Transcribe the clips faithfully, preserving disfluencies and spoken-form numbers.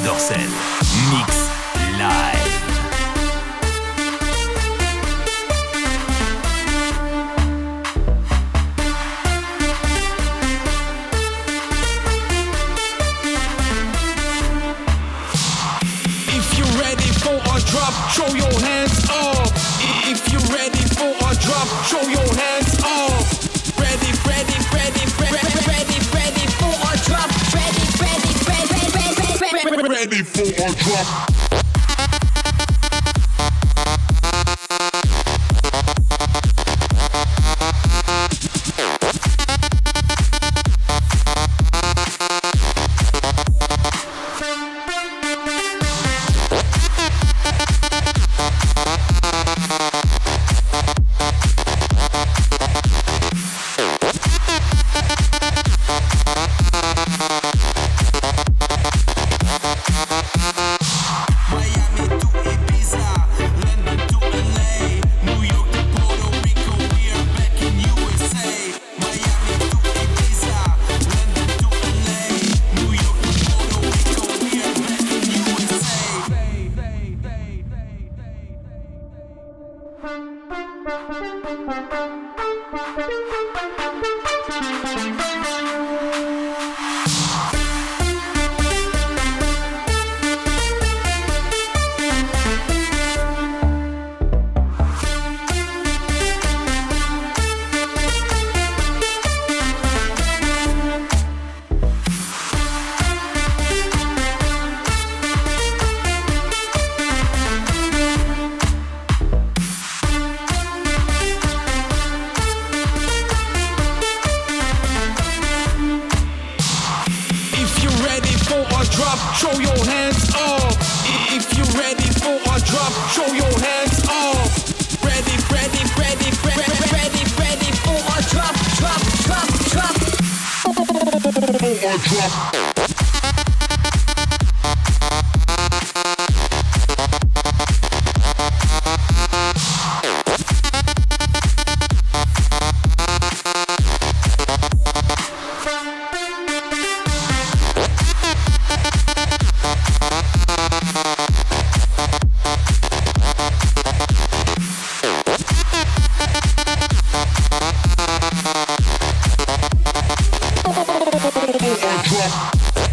Dorcel. Mix live. If you're ready for a drop, show your hands up. If you're ready for a drop, show your hands up. Ready, ready, ready, ready, ready, ready for a drop. Ready, ready, ready, ready, ready, ready for a drop. Show your hands up. If you're ready for a drop, show your hands up. Ready, ready, ready, ready, ready, ready for a drop, drop, drop, drop. For a drop. Drop.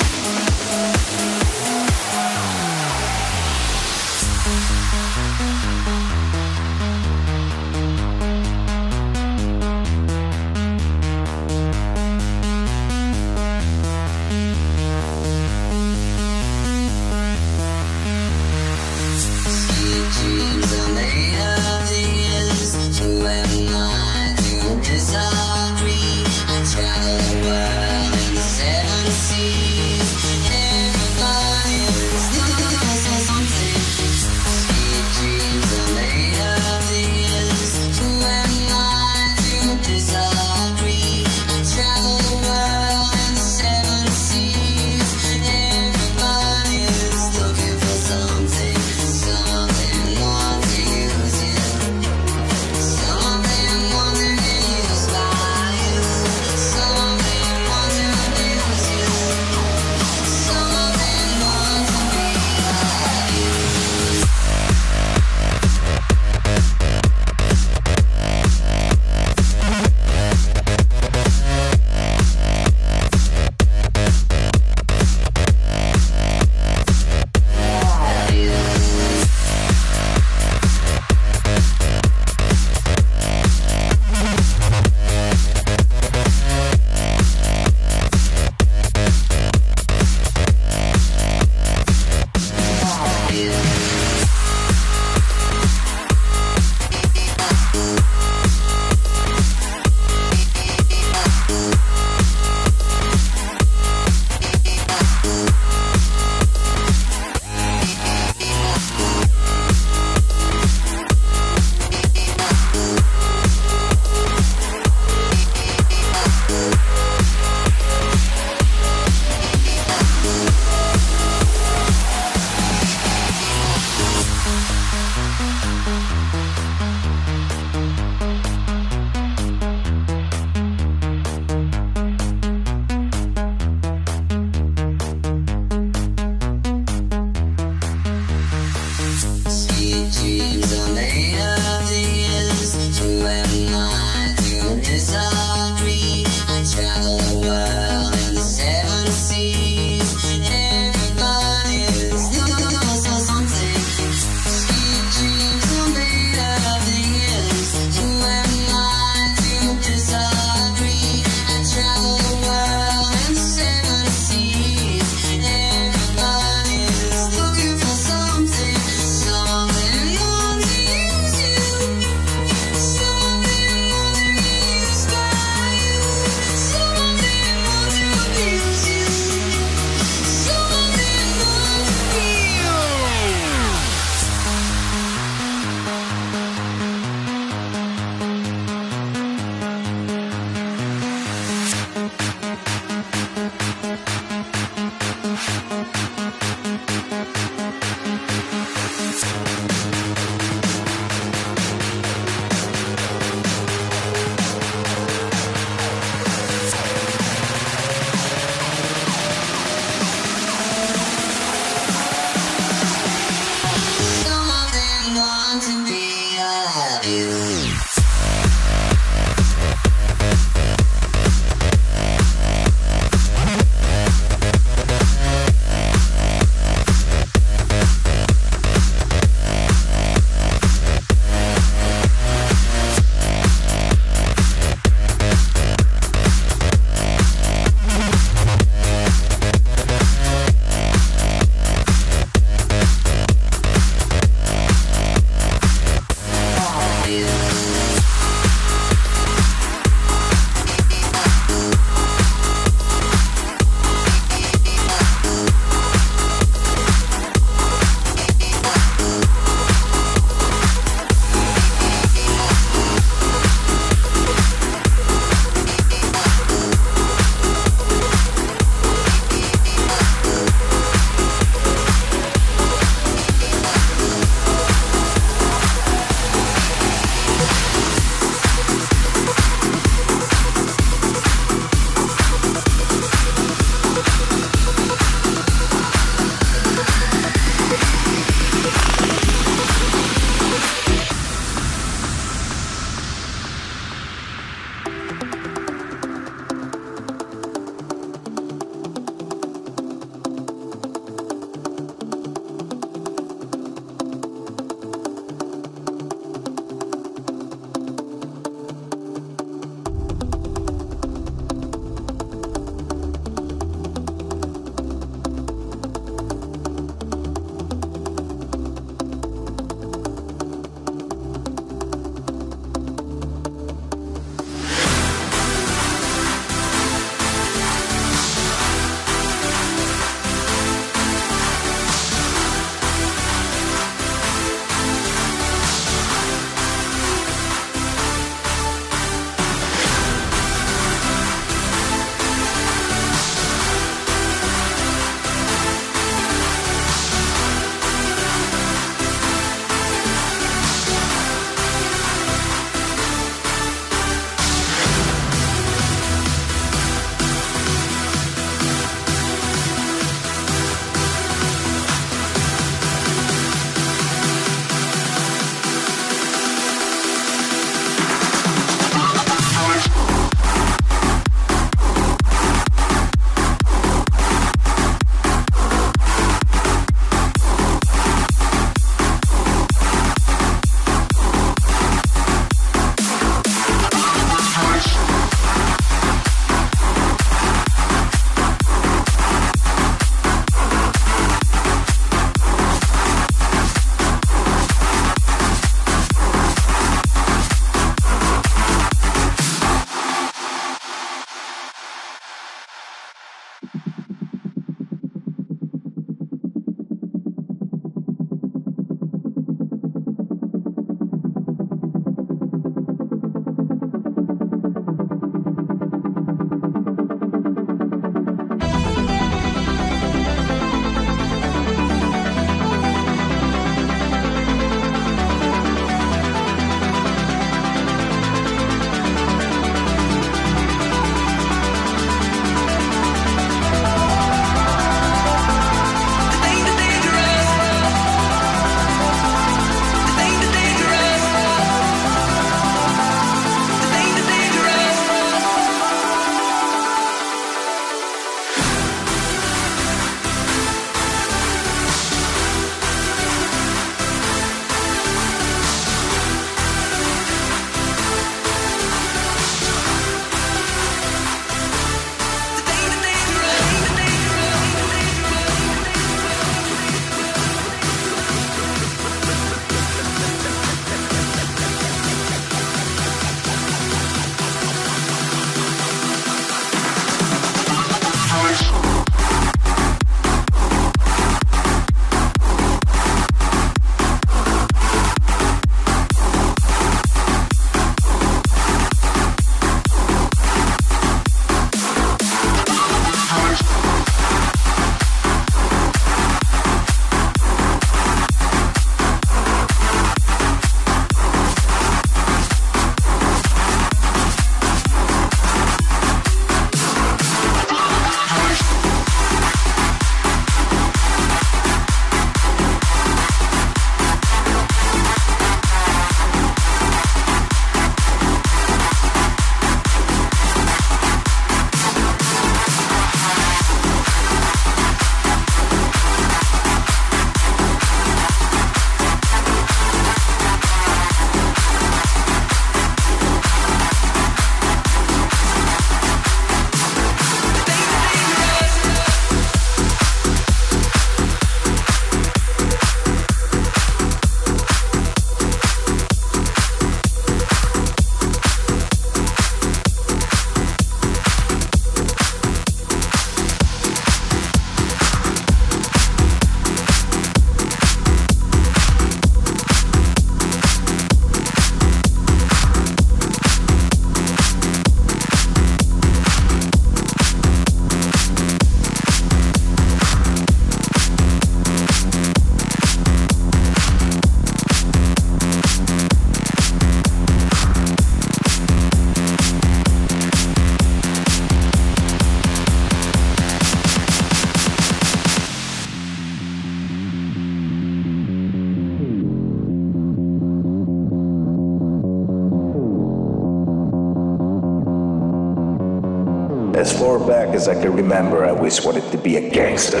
As far back as I can remember, I always wanted to be a gangster.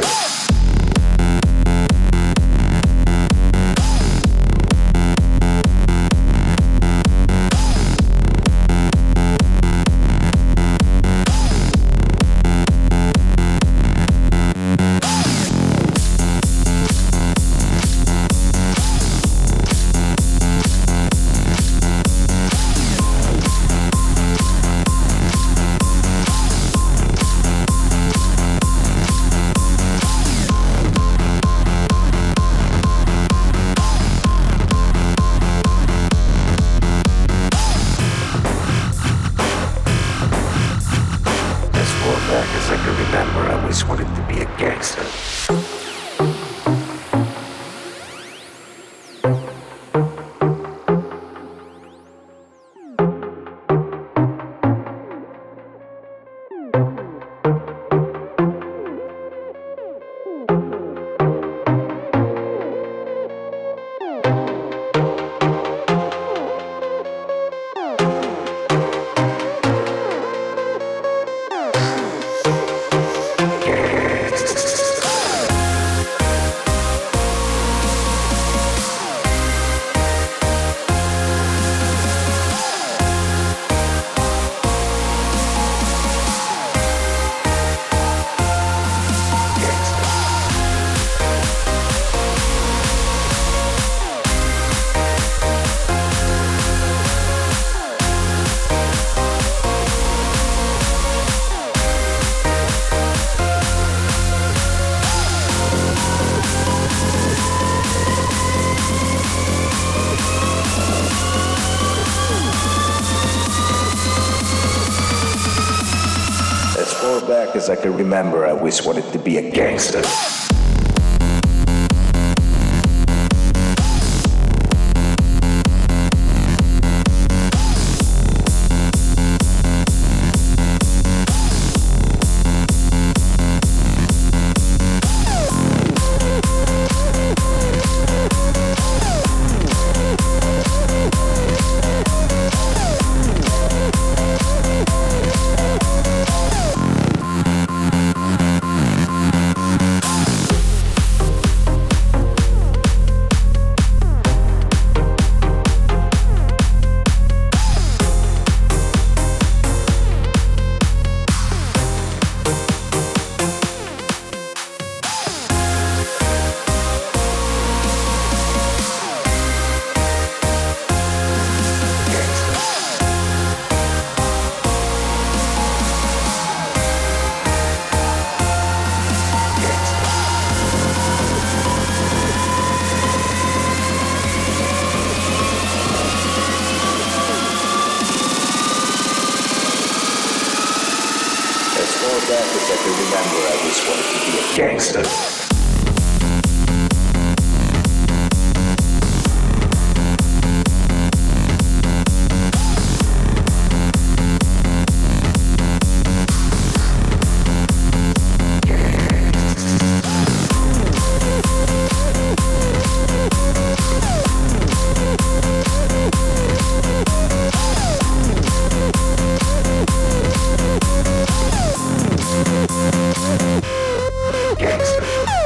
Back as I can remember, I always wanted to be a gangster. Back as I can remember, I always wanted to be a gangster. Gangster.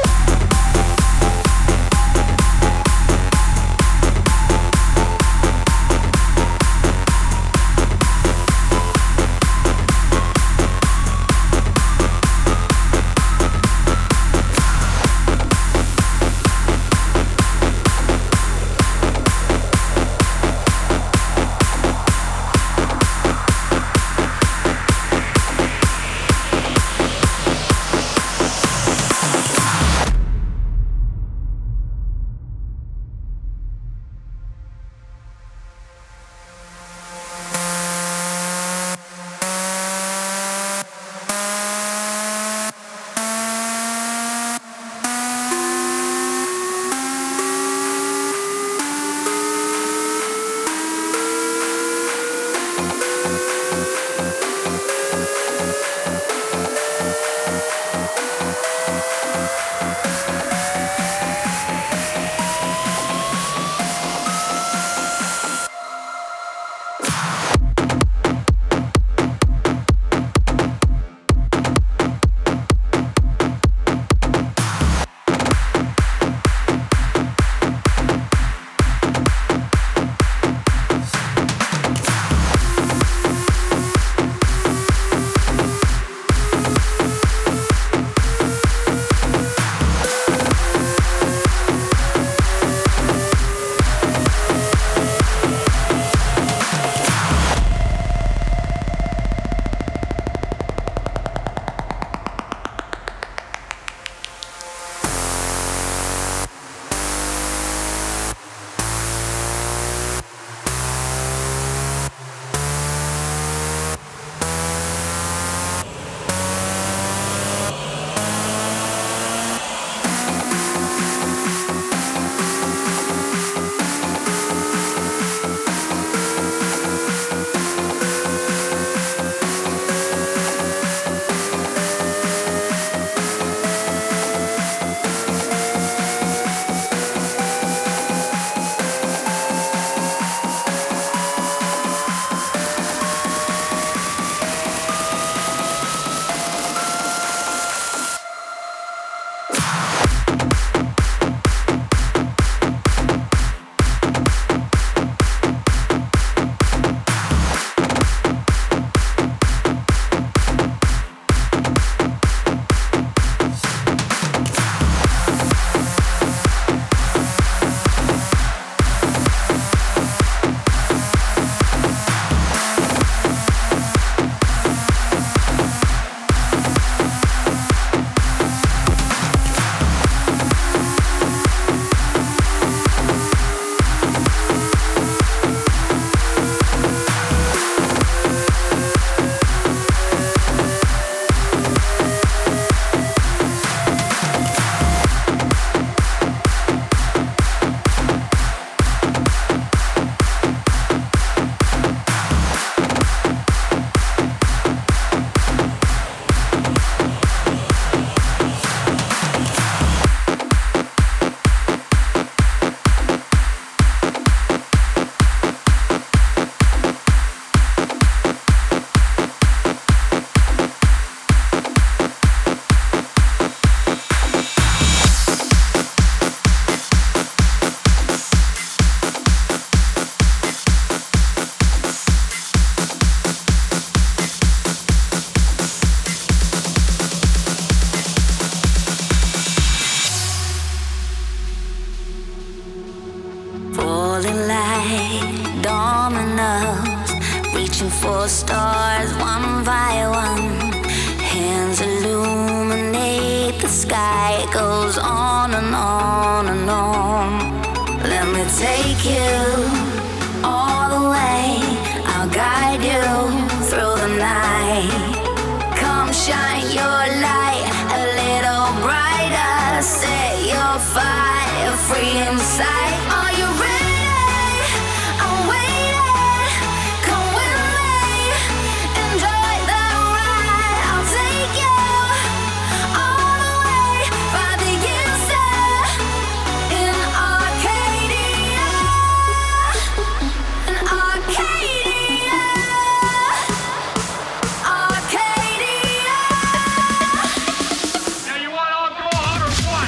dominoes, reaching for stars one by one. Hands illuminate the sky. It goes on and on and on. Let me take you all the way. I'll guide you through the night. Come shine your light a little brighter. Set your fire free inside. Are you ready? I'm waiting. Come with me. Enjoy the ride. I'll take you all the way. By the inside in Arcadia. In Arcadia. Arcadia. Now you want all go hard or what?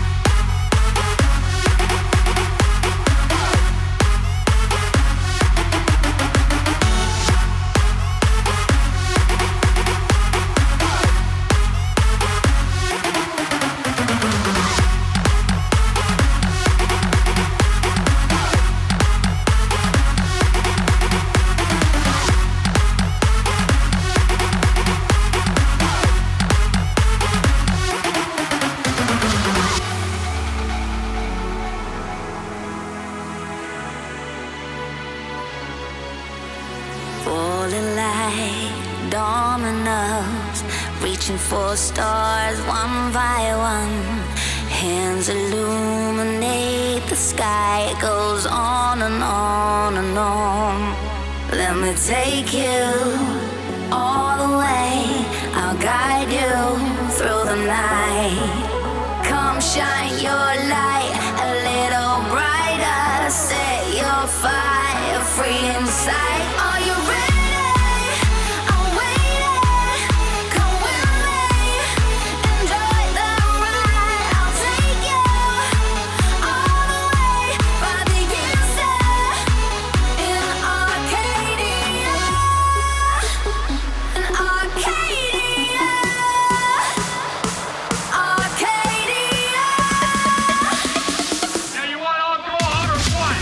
Falling like dominoes, reaching for stars one by one. Hands illuminate the sky. It goes on and on and on. Let me take you all the way. I'll guide you through the night. Come shine your light a little brighter. Set your fire free inside. Are you ready? I'm waiting. Come with me. Enjoy the ride. I'll take you all the way. By the inside in Arcadia. In Arcadia. Arcadia. Now you want all go hard or what?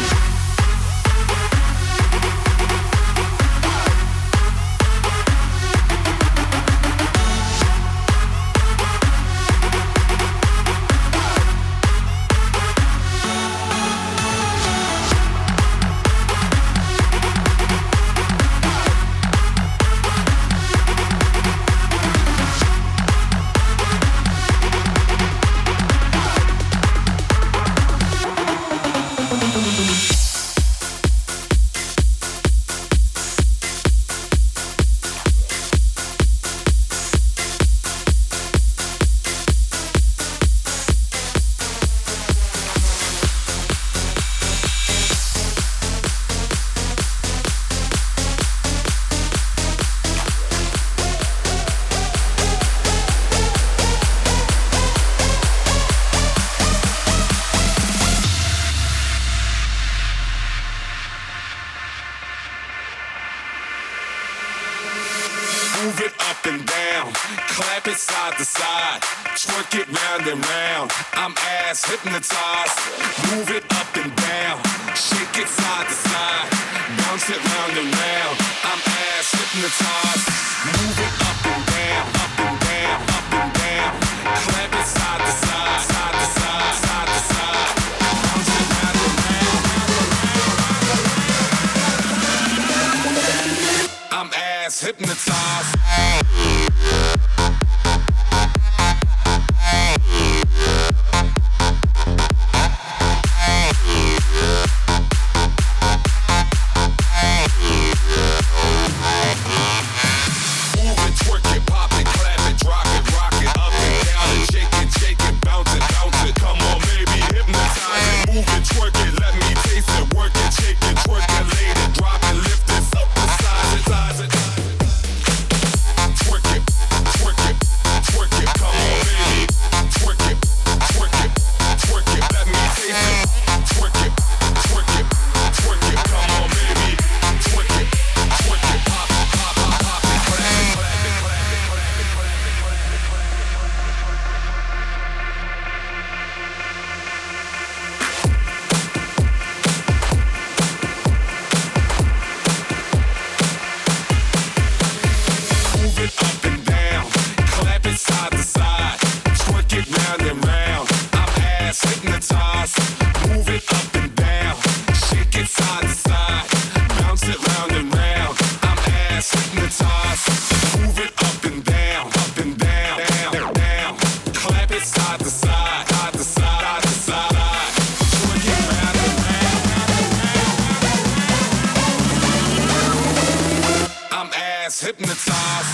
Move it up and down, clap it side to side, twerk it round and round. I'm ass hypnotized. Move it up and down, shake it side to side, bounce it round and round. I'm ass hypnotized. Move it up and down, up and down, up and down, clap it side to side, side to side, side to side, bounce it round and round. I'm ass hypnotized. Twerk it, hypnotize.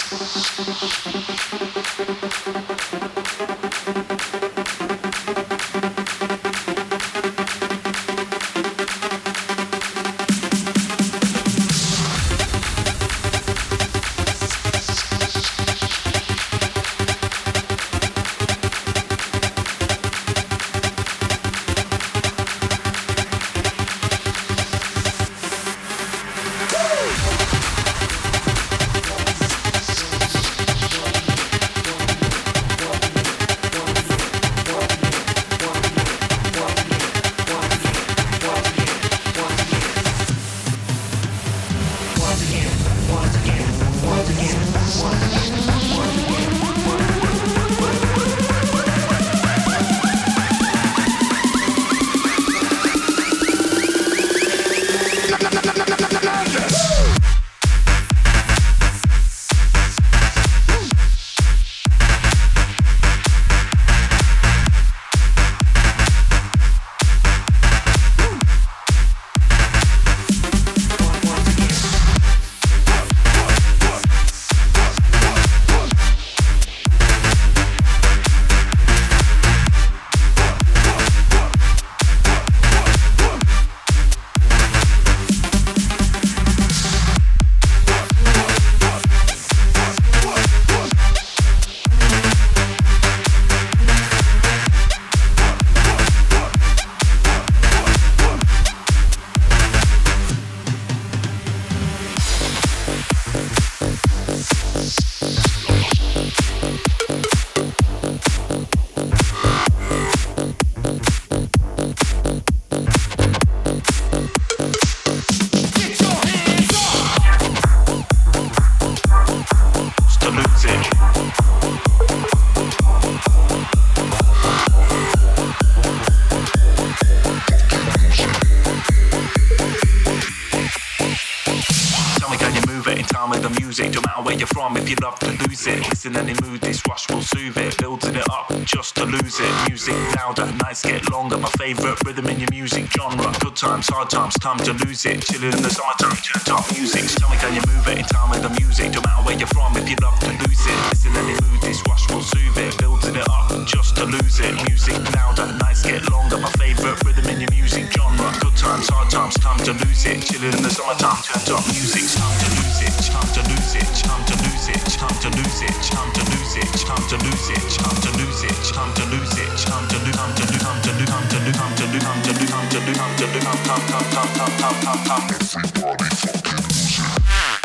If you love to lose it, listen any mood, this rush will soothe it. Building it up just to lose it. Music louder, nights get longer. My favourite rhythm in your music genre. Good times, hard times, time to lose it. Chilling in the summertime, turned up music. Tell me, can you move it in time with the music? No matter where you're from, if you love to lose it, listen any mood, this rush will soothe it. Building it up just to lose it. Music louder, nights get longer. My favourite rhythm in your music genre. Good times, hard times, time to lose it. Chilling in the summertime, turned up music. Time to lose it, time to lose it, time to lose it. Time to lose it, time to lose it, time to lose it, time to lose it, time to lose it, time to lose, time to lose, time to lose, time to lose, time to lose, time to lose, time to lose, time to lose, time to lose, time to lose, time to lose. Everybody fucking lose it.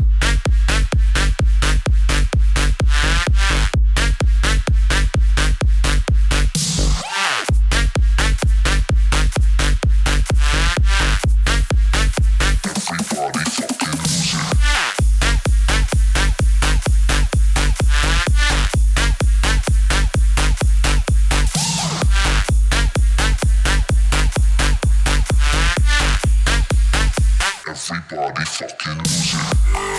Everybody fucking lose it.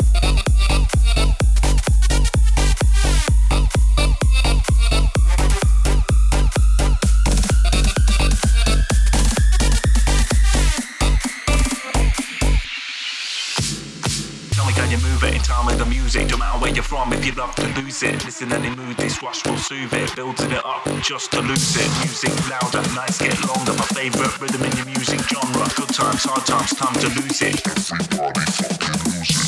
No matter where you're from, if you love to lose it, listen any mood, this rush will soothe it. Building it up just to lose it. Music louder, nights get longer. My favourite rhythm in your music genre. Good times, hard times, time to lose it. Everybody fucking lose it.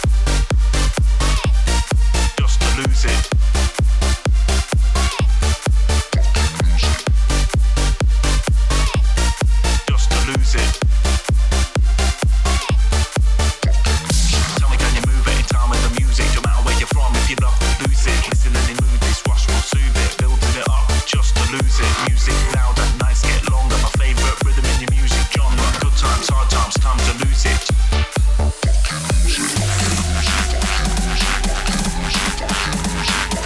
Just to lose it. Fucking lose it. Just to lose it. You love to lose it, listen any mood, this rush will soothe it. Building it up just to lose it. Music louder, nights get longer. My favourite rhythm in your music genre. Good times, hard times, time to lose it. Fucking lose it, fucking lose it, fucking lose it, fucking lose it, fucking lose it.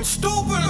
fucking stupid.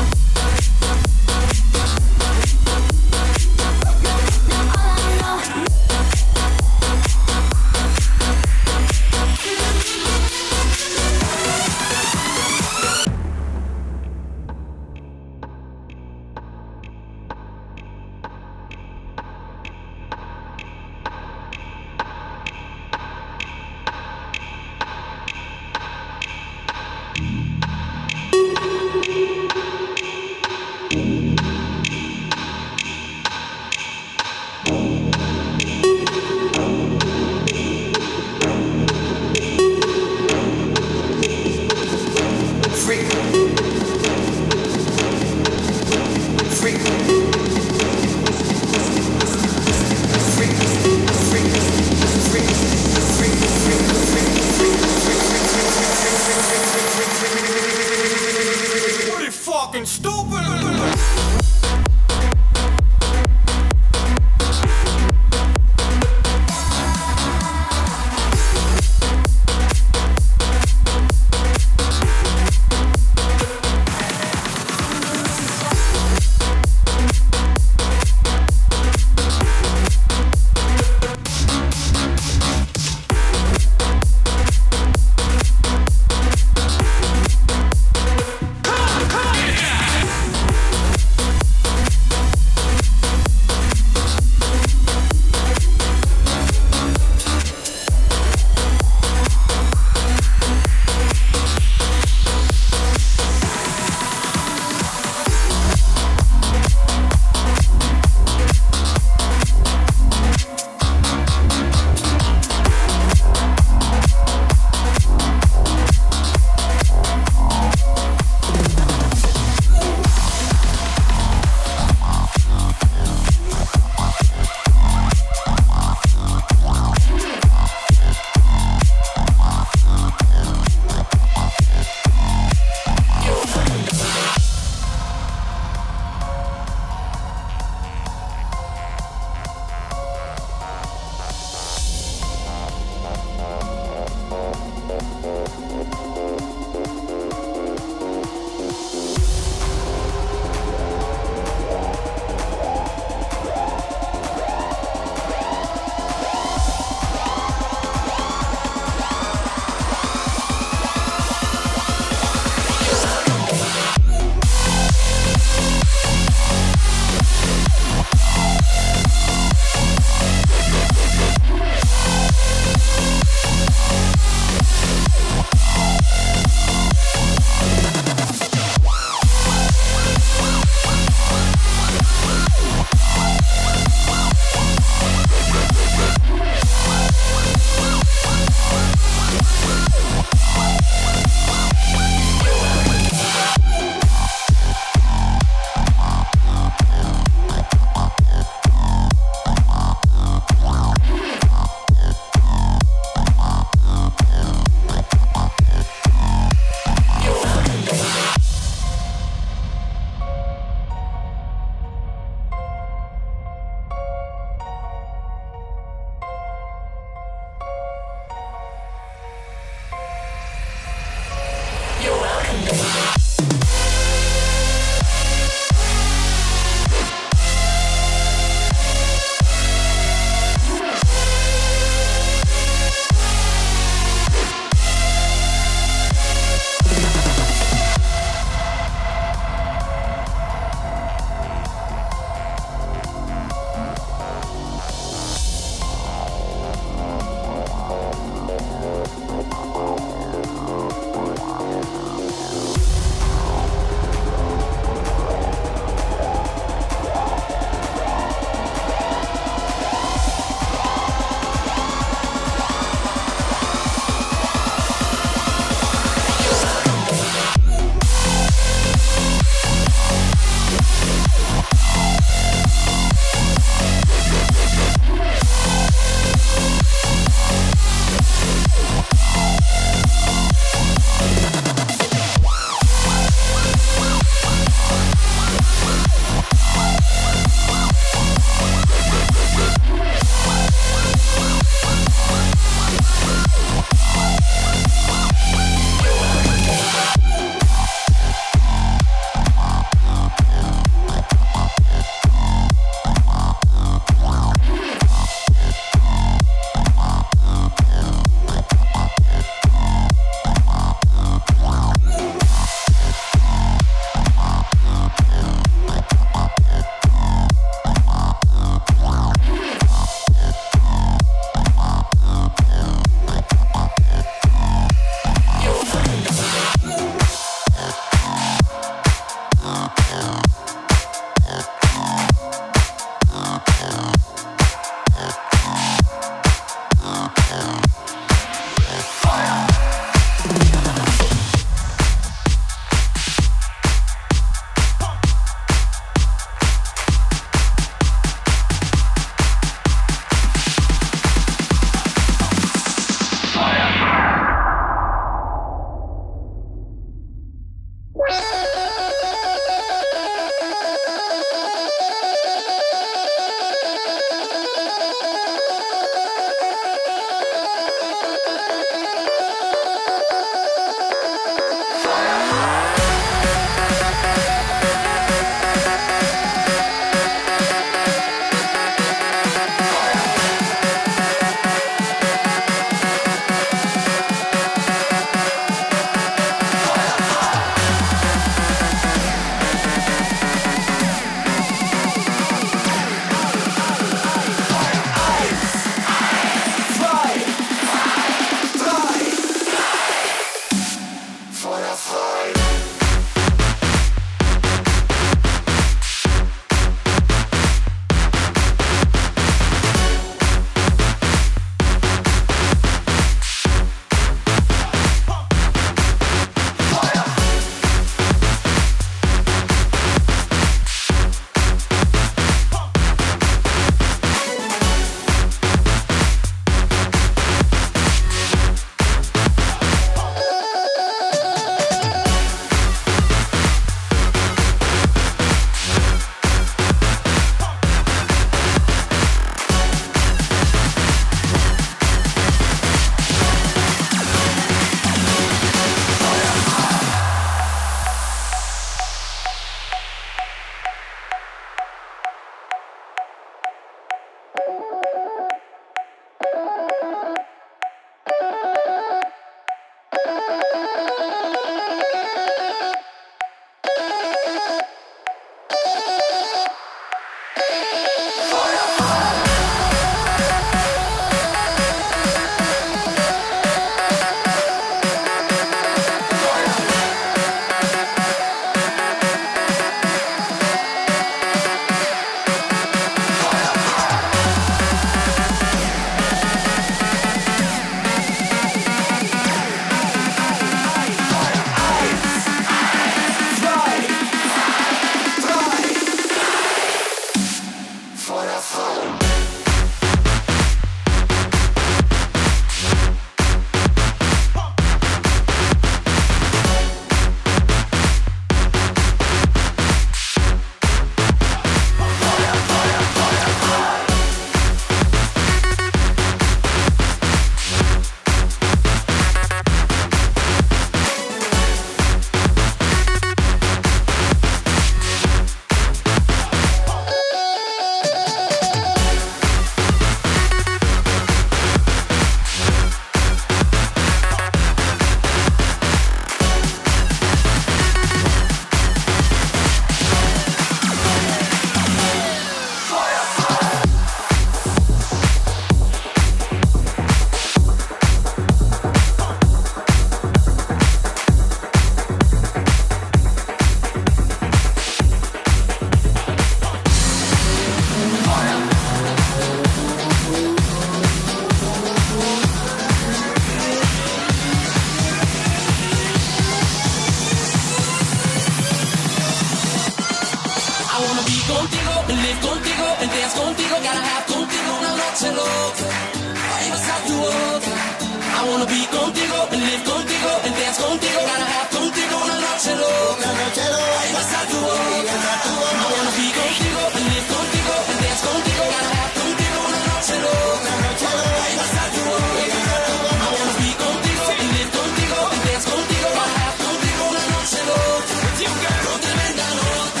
live contigo and dance contigo. Gotta have contigo una noche loca. Ay, vas a tu boca. I wanna be contigo and live contigo and dance contigo. Gotta have contigo una noche loca. Ay, vas a tu boca. I wanna be contigo and live contigo and dance contigo. Gotta have contigo una noche loca. Ay, vas a tu boca. I wanna be contigo and live contigo and dance contigo. Gotta have contigo una noche loca. Con tremenda nota.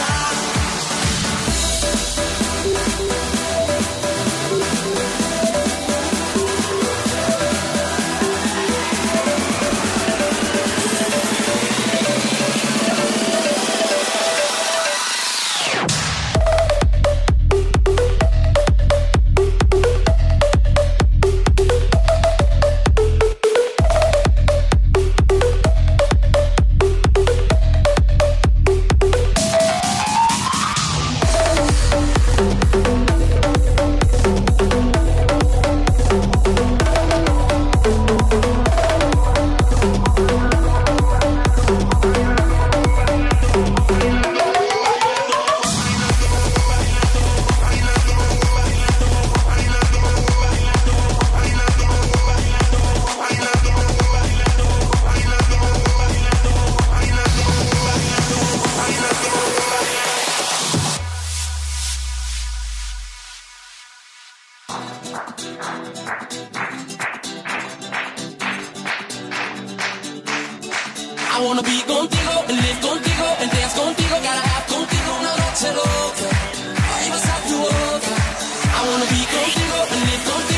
I wanna be contigo and live contigo and dance contigo. Gotta have contigo una noche loca. Ay, vas a tu boca. I wanna be contigo and live contigo.